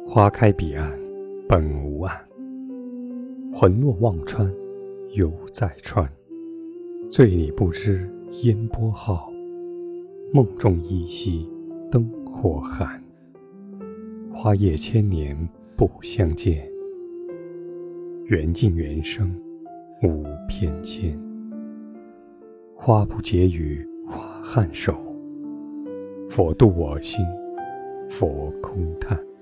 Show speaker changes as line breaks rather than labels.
花开彼岸，本无岸。魂落忘川，犹在川。醉里不知烟波浩，梦中依稀灯火寒。花叶千年不相见，缘尽缘生无偏跹。花不结于花颔首，佛度我心，佛空叹。